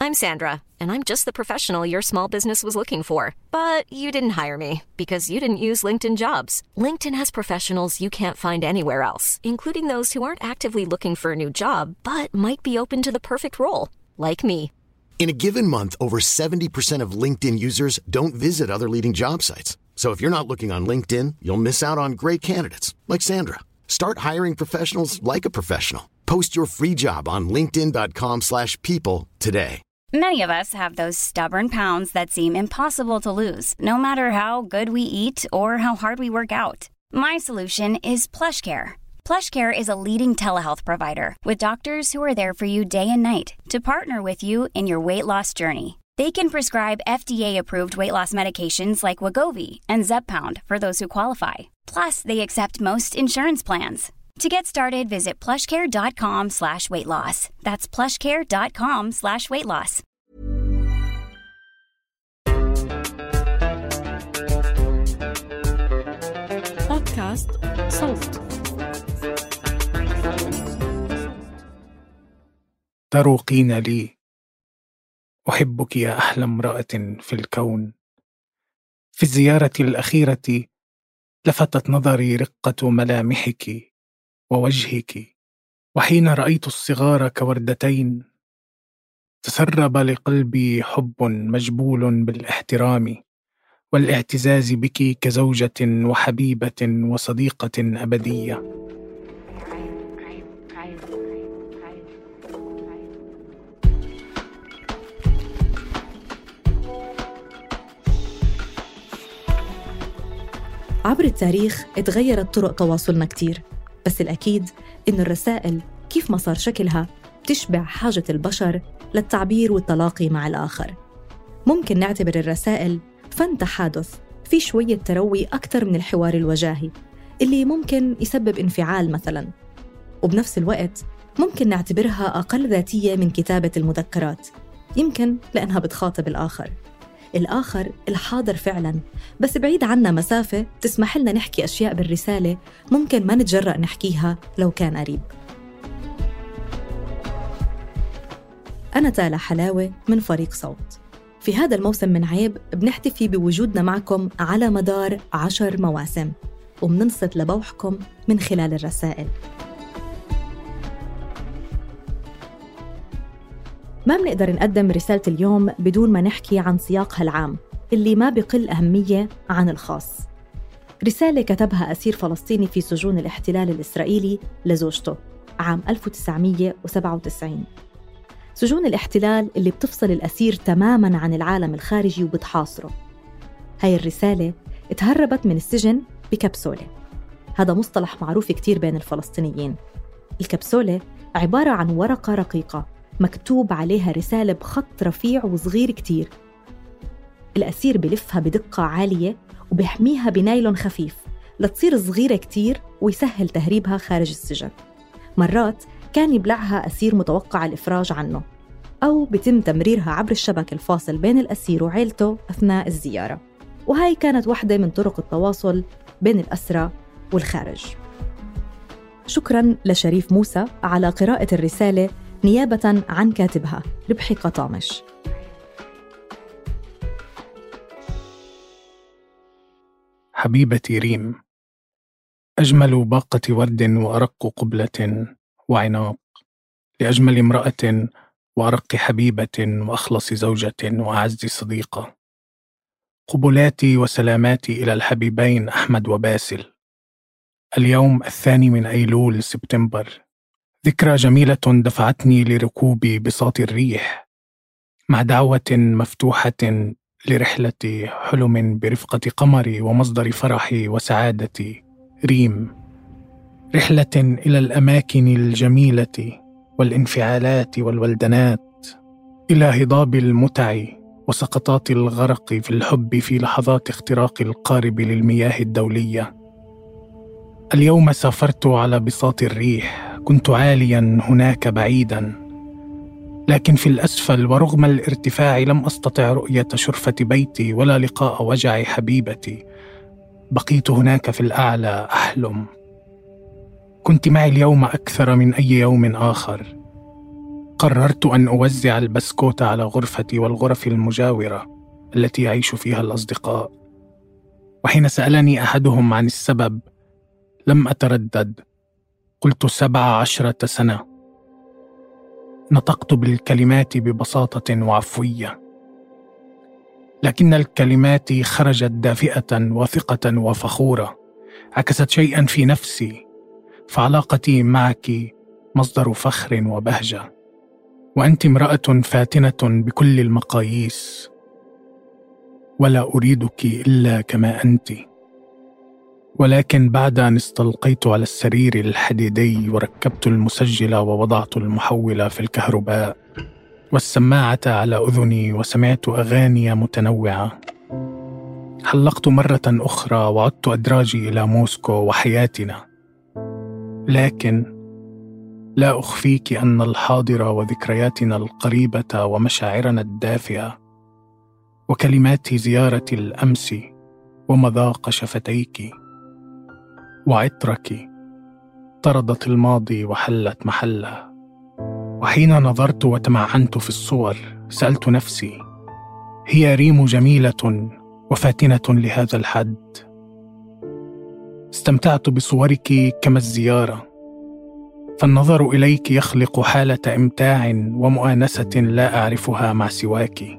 I'm Sandra, and I'm just the professional your small business was looking for. But you didn't hire me because you didn't use LinkedIn Jobs. LinkedIn has professionals you can't find anywhere else, including those who aren't actively looking for a new job, but might be open to the perfect role, like me. In a given month, over 70% of LinkedIn users don't visit other leading job sites. So if you're not looking on LinkedIn, you'll miss out on great candidates like Sandra. Start hiring professionals like a professional. Post your free job on linkedin.com/people today. Many of us have those stubborn pounds that seem impossible to lose, no matter how good we eat or how hard we work out. My solution is PlushCare. PlushCare is a leading telehealth provider with doctors who are there for you day and night to partner with you in your weight loss journey. They can prescribe FDA-approved weight loss medications like Wegovy and Zepbound for those who qualify. Plus, they accept most insurance plans. To get started, visit plushcare.com/weightloss. That's plushcare.com/weightloss. بودكاست صوت. تروقين لي، أحبك يا أحلى امرأة في الكون. في الزيارة الأخيرة لفتت نظري رقة ملامحك ووجهك، وحين رأيت الصغار كوردتين تسرب لقلبي حب مجبول بالاحترام والاعتزاز بك كزوجة وحبيبة وصديقة أبدية. عبر التاريخ اتغيرت طرق تواصلنا كتير، بس الأكيد إن الرسائل كيف ما صار شكلها تشبع حاجة البشر للتعبير والتلاقي مع الآخر. ممكن نعتبر الرسائل فن تحادث في شوية تروي أكثر من الحوار الوجاهي اللي ممكن يسبب انفعال مثلاً، وبنفس الوقت ممكن نعتبرها أقل ذاتية من كتابة المذكرات، يمكن لأنها بتخاطب الآخر الحاضر فعلاً، بس بعيد عنا مسافة تسمح لنا نحكي أشياء بالرسالة ممكن ما نتجرأ نحكيها لو كان قريب. أنا تالا حلاوة من فريق صوت. في هذا الموسم من عيب بنحتفي بوجودنا معكم على مدار 10 مواسم، وبننصت لبوحكم من خلال الرسائل. ما بنقدر نقدم رسالة اليوم بدون ما نحكي عن سياقها العام اللي ما بقل أهمية عن الخاص. رسالة كتبها أسير فلسطيني في سجون الاحتلال الإسرائيلي لزوجته عام 1997. سجون الاحتلال اللي بتفصل الأسير تماماً عن العالم الخارجي وبتحاصره. هاي الرسالة اتهربت من السجن بكبسولة. هذا مصطلح معروف كتير بين الفلسطينيين. الكبسولة عبارة عن ورقة رقيقة مكتوب عليها رسالة بخط رفيع وصغير كتير. الأسير بلفها بدقة عالية وبيحميها بنايلون خفيف لتصير صغيرة كتير ويسهل تهريبها خارج السجن. مرات كان يبلعها أسير متوقع الإفراج عنه، أو بتم تمريرها عبر الشبك الفاصل بين الأسير وعيلته أثناء الزيارة. وهي كانت واحدة من طرق التواصل بين الأسرى والخارج. شكراً لشريف موسى على قراءة الرسالة نيابة عن كاتبها ربحي قطامش. حبيبتي ريم، أجمل باقة ورد وأرق قبلة وعناق لأجمل امرأة وأرق حبيبة وأخلص زوجة وأعز صديقة. قبلاتي وسلاماتي إلى الحبيبين أحمد وباسل. اليوم 2 من أيلول سبتمبر، ذكرى جميلة دفعتني لركوب بساط الريح مع دعوة مفتوحة لرحلة حلم برفقة قمري ومصدر فرحي وسعادتي ريم. رحلة إلى الأماكن الجميلة والانفعالات والولدنات، إلى هضاب المتع وسقطات الغرق في الحب في لحظات اختراق القارب للمياه الدولية. اليوم سافرت على بساط الريح، كنت عاليا هناك بعيدا، لكن في الأسفل ورغم الارتفاع لم أستطع رؤية شرفة بيتي ولا لقاء وجع حبيبتي. بقيت هناك في الأعلى أحلم. كنت معي اليوم أكثر من أي يوم آخر. قررت أن أوزع البسكوت على غرفتي والغرف المجاورة التي يعيش فيها الأصدقاء. وحين سألني أحدهم عن السبب لم أتردد، قلت 17 سنة. نطقت بالكلمات ببساطة وعفوية، لكن الكلمات خرجت دافئة وثقة وفخورة، عكست شيئا في نفسي، فعلاقتي معك مصدر فخر وبهجة، وأنت امرأة فاتنة بكل المقاييس، ولا أريدك إلا كما أنت. ولكن بعد أن استلقيت على السرير الحديدي وركبت المسجل ووضعت المحول في الكهرباء والسماعة على أذني وسمعت أغاني متنوعة، حلقت مرة أخرى وعدت أدراجي إلى موسكو وحياتنا. لكن لا أخفيك أن الحاضر وذكرياتنا القريبة ومشاعرنا الدافئة وكلمات زيارة الأمس ومذاق شفتيك وعطرك طردت الماضي وحلت محله. وحين نظرت وتمعنت في الصور سألت نفسي: هي ريم جميلة وفاتنة لهذا الحد؟ استمتعت بصورك كما الزيارة، فالنظر إليك يخلق حالة إمتاع ومؤانسة لا أعرفها مع سواك.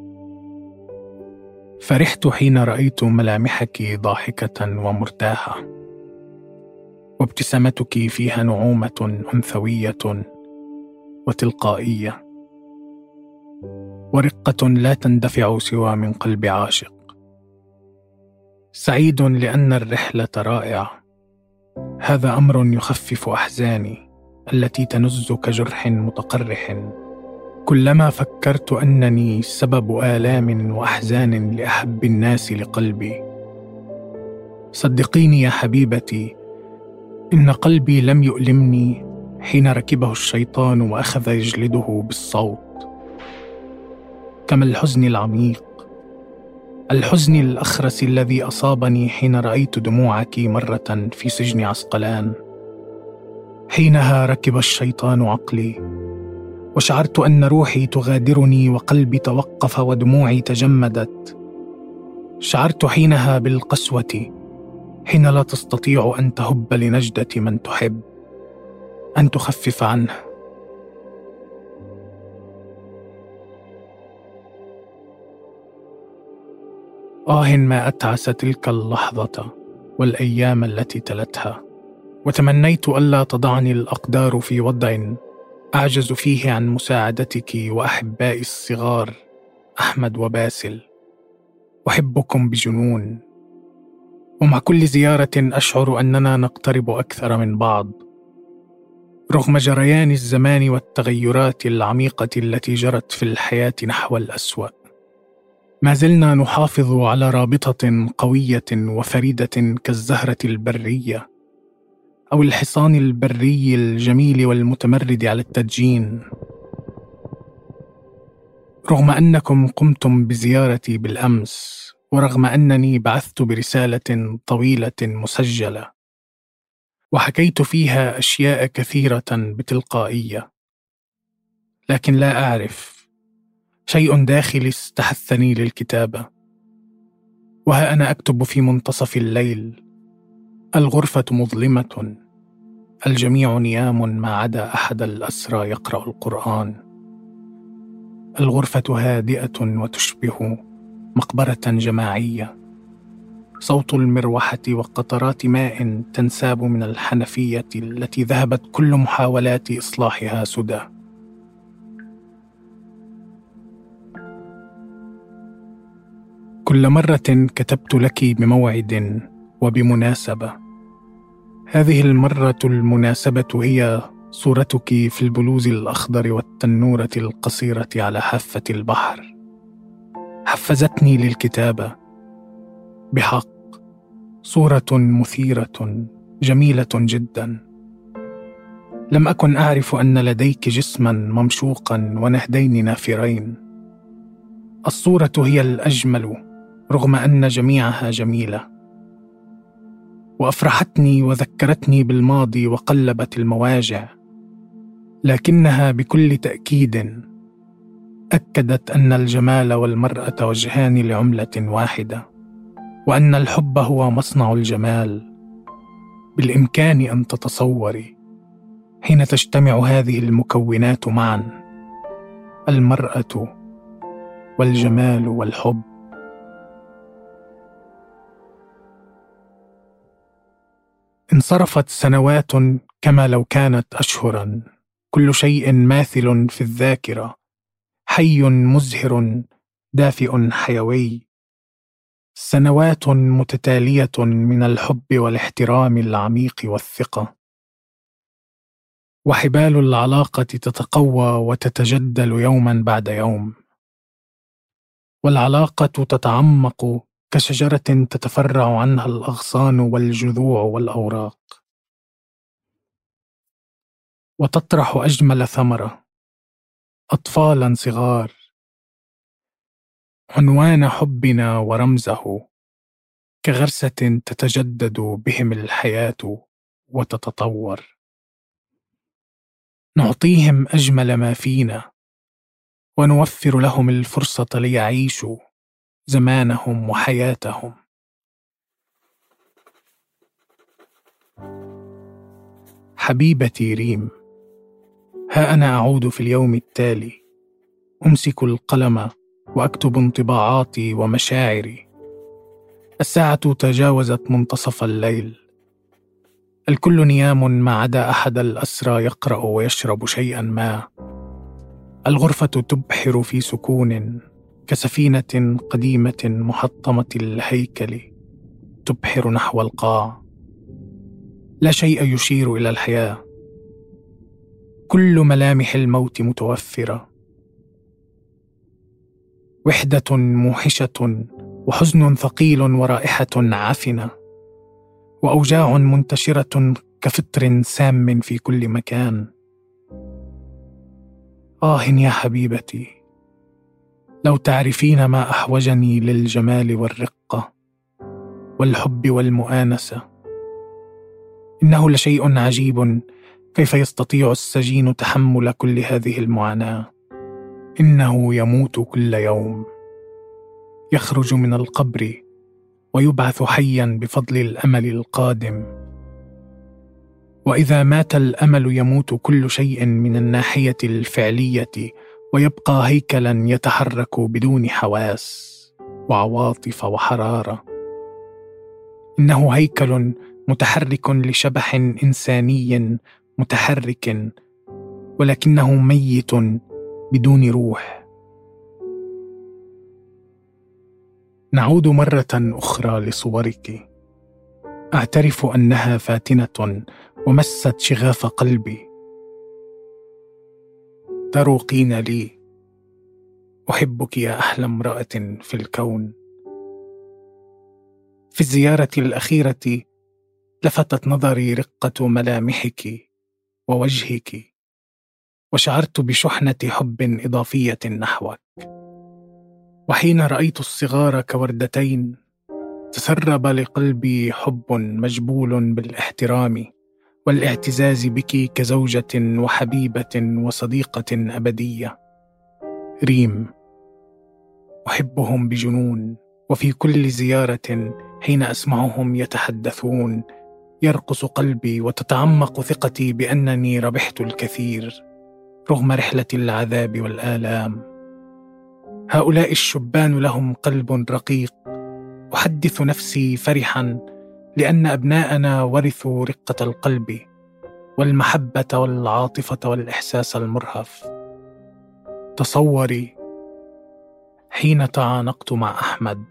فرحت حين رأيت ملامحك ضاحكة ومرتاحة، وابتسامتك فيها نعومة أنثوية وتلقائية، ورقة لا تندفع سوى من قلب عاشق. سعيد لأن الرحلة رائعة، هذا أمر يخفف أحزاني التي تنز كجرح متقرح كلما فكرت أنني سبب آلام وأحزان لأحب الناس لقلبي. صدقيني يا حبيبتي، إن قلبي لم يؤلمني حين ركبه الشيطان وأخذ يجلده بالصوت، كما الحزن العميق، الحزن الأخرس الذي أصابني حين رأيت دموعك مرة في سجن عسقلان. حينها ركب الشيطان عقلي، وشعرت أن روحي تغادرني وقلبي توقف ودموعي تجمدت. شعرت حينها بالقسوة، حين لا تستطيع أن تهب لنجدة من تحب، أن تخفف عنه. ما أتعس تلك اللحظة والأيام التي تلتها، وتمنيت ألا تضعني الأقدار في وضع أعجز فيه عن مساعدتك وأحبائي الصغار أحمد وباسل. أحبكم بجنون، ومع كل زيارة أشعر أننا نقترب أكثر من بعض، رغم جريان الزمان والتغيرات العميقة التي جرت في الحياة نحو الأسوأ. ما زلنا نحافظ على رابطة قوية وفريدة كالزهرة البرية أو الحصان البري الجميل والمتمرد على التدجين. رغم أنكم قمتم بزيارتي بالأمس، ورغم أنني بعثت برسالة طويلة مسجلة وحكيت فيها أشياء كثيرة بتلقائية، لكن لا أعرف، شيء داخلي استحثني للكتابة. وها أنا أكتب في منتصف الليل، الغرفة مظلمة، الجميع نيام ما عدا أحد الأسرى يقرأ القرآن. الغرفة هادئة وتشبه مقبرة جماعية، صوت المروحة وقطرات ماء تنساب من الحنفية التي ذهبت كل محاولات إصلاحها سدى. كل مرة كتبت لك بموعد وبمناسبة، هذه المرة المناسبة هي صورتك في البلوز الأخضر والتنورة القصيرة على حافة البحر. حفزتني للكتابة بحق، صورة مثيرة جميلة جدا. لم أكن أعرف أن لديك جسما ممشوقا ونهدين نافرين. الصورة هي الأجمل رغم أن جميعها جميلة، وأفرحتني وذكرتني بالماضي وقلبت المواجع. لكنها بكل تأكيد أكدت أن الجمال والمرأة وجهان لعملة واحدة، وأن الحب هو مصنع الجمال. بالإمكان أن تتصوري حين تجتمع هذه المكونات معا، المرأة والجمال والحب. انصرفت سنوات كما لو كانت أشهرا، كل شيء ماثل في الذاكرة، حي مزهر دافئ حيوي، سنوات متتالية من الحب والاحترام العميق والثقة، وحبال العلاقة تتقوى وتتجدل يوما بعد يوم، والعلاقة تتعمق كشجرة تتفرع عنها الأغصان والجذوع والأوراق، وتطرح أجمل ثمرة، أطفالا صغار، عنوان حبنا ورمزه، كغرسة تتجدد بهم الحياة وتتطور. نعطيهم أجمل ما فينا، ونوفر لهم الفرصة ليعيشوا زمانهم وحياتهم. حبيبتي ريم، ها أنا أعود في اليوم التالي، أمسك القلم وأكتب انطباعاتي ومشاعري. الساعة تجاوزت منتصف الليل، الكل نيام ما عدا أحد الأسرى يقرأ ويشرب شيئا ما. الغرفة تبحر في سكون كسفينة قديمة محطمة الهيكل تبحر نحو القاع. لا شيء يشير إلى الحياة، كل ملامح الموت متوفرة. وحدة موحشة وحزن ثقيل ورائحة عفنة وأوجاع منتشرة كفطر سام في كل مكان. يا حبيبتي، لو تعرفين ما أحوجني للجمال والرقة والحب والمؤانسة. إنه لشيء عجيب كيف يستطيع السجين تحمل كل هذه المعاناة. إنه يموت كل يوم، يخرج من القبر ويبعث حيا بفضل الأمل القادم. وإذا مات الأمل يموت كل شيء من الناحية الفعلية، ويبقى هيكلا يتحرك بدون حواس وعواطف وحرارة. إنه هيكل متحرك لشبح إنساني متحرك، ولكنه ميت بدون روح. نعود مرة أخرى لصورك. أعترف أنها فاتنة ومست شغاف قلبي. تروقين لي، أحبك يا أحلى امرأة في الكون. في الزيارة الأخيرة لفتت نظري رقة ملامحك ووجهك، وشعرت بشحنة حب إضافية نحوك. وحين رأيت الصغار كوردتين تسرب لقلبي حب مجبول بالاحترام والاعتزاز بك كزوجة وحبيبة وصديقة أبدية. ريم، أحبهم بجنون، وفي كل زيارة حين أسمعهم يتحدثون يرقص قلبي وتتعمق ثقتي بأنني ربحت الكثير رغم رحلة العذاب والآلام. هؤلاء الشبان لهم قلب رقيق. أحدث نفسي فرحا لأن أبناءنا ورثوا رقة القلب والمحبة والعاطفة والإحساس المرهف. تصوري، حين تعانقت مع أحمد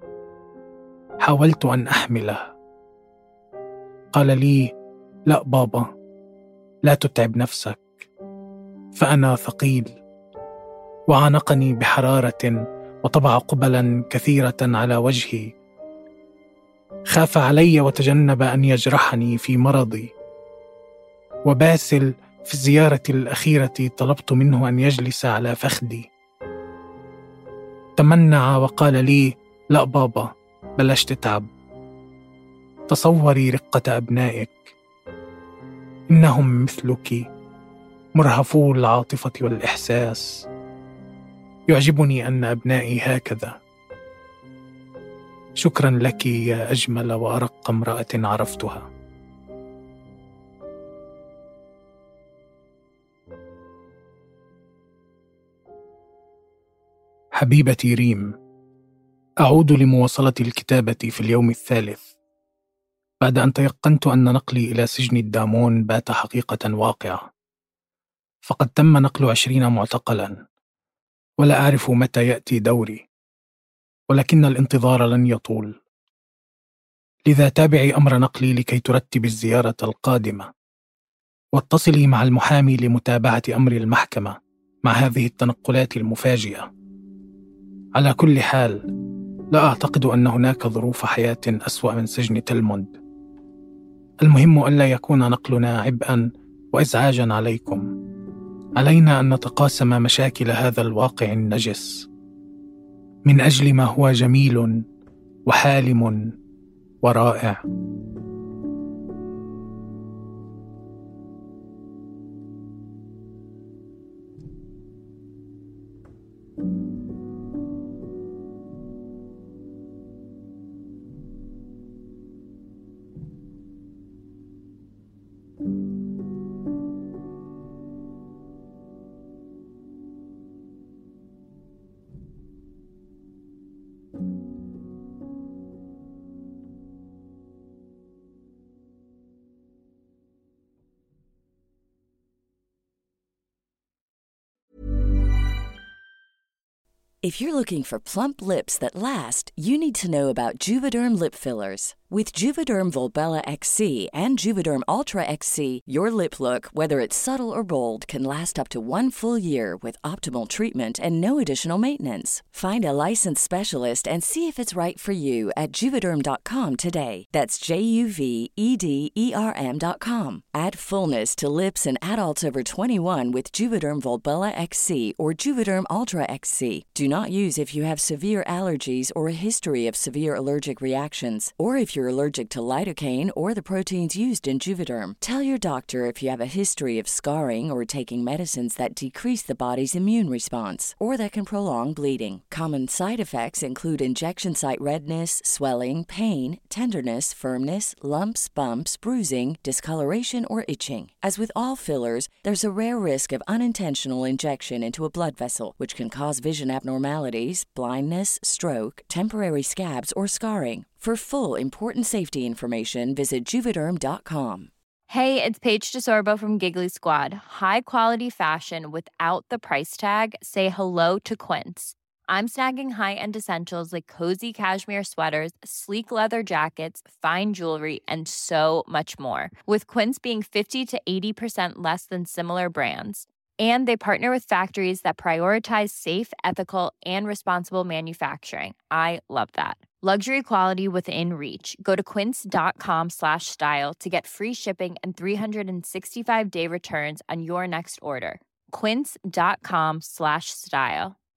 حاولت أن أحمله. قال لي: لا بابا، لا تتعب نفسك، فأنا ثقيل. وعانقني بحرارة وطبع قبلا كثيرة على وجهي. خاف علي وتجنب أن يجرحني في مرضي. وباسل في الزيارة الأخيرة طلبت منه أن يجلس على فخذي. تمنع وقال لي: لا بابا، بلاش تتعب. تصوري رقة أبنائك، إنهم مثلك مرهفو العاطفة والإحساس. يعجبني أن أبنائي هكذا. شكرا لك يا أجمل وأرق امرأة عرفتها. حبيبتي ريم، أعود لمواصلة الكتابة في اليوم الثالث بعد أن تيقنت أن نقلي إلى سجن الدامون بات حقيقة واقعة. فقد تم نقل 20 معتقلا، ولا أعرف متى يأتي دوري، ولكن الانتظار لن يطول. لذا تابعي أمر نقلي لكي ترتب الزيارة القادمة، واتصلي مع المحامي لمتابعة أمر المحكمة مع هذه التنقلات المفاجئة. على كل حال، لا أعتقد أن هناك ظروف حياة أسوأ من سجن تلموند. المهم ألا يكون نقلنا عبئا وإزعاجا عليكم. علينا أن نتقاسم مشاكل هذا الواقع النجس من أجل ما هو جميل وحالم ورائع. If you're looking for plump lips that last, you need to know about Juvederm lip fillers. With Juvederm Volbella XC and Juvederm Ultra XC, your lip look, whether it's subtle or bold, can last up to 1 full year with optimal treatment and no additional maintenance. Find a licensed specialist and see if it's right for you at Juvederm.com today. That's JUVEDERM.com. Add fullness to lips in adults over 21 with Juvederm Volbella XC or Juvederm Ultra XC. Do not use if you have severe allergies or a history of severe allergic reactions, or if you're allergic to lidocaine or the proteins used in Juvederm. Tell your doctor if you have a history of scarring or taking medicines that decrease the body's immune response or that can prolong bleeding. Common side effects include injection site redness, swelling, pain, tenderness, firmness, lumps, bumps, bruising, discoloration, or itching. As with all fillers, there's a rare risk of unintentional injection into a blood vessel, which can cause vision abnormalities, blindness, stroke, temporary scabs, or scarring. For full important safety information, visit Juvederm.com. Hey, it's Paige DeSorbo from Giggly Squad. High quality fashion without the price tag. Say hello to Quince. I'm snagging high-end essentials like cozy cashmere sweaters, sleek leather jackets, fine jewelry, and so much more. With Quince being 50 to 80% less than similar brands. And they partner with factories that prioritize safe, ethical, and responsible manufacturing. I love that. Luxury quality within reach. Go to quince.com/style to get free shipping and 365-day returns on your next order. Quince.com/style.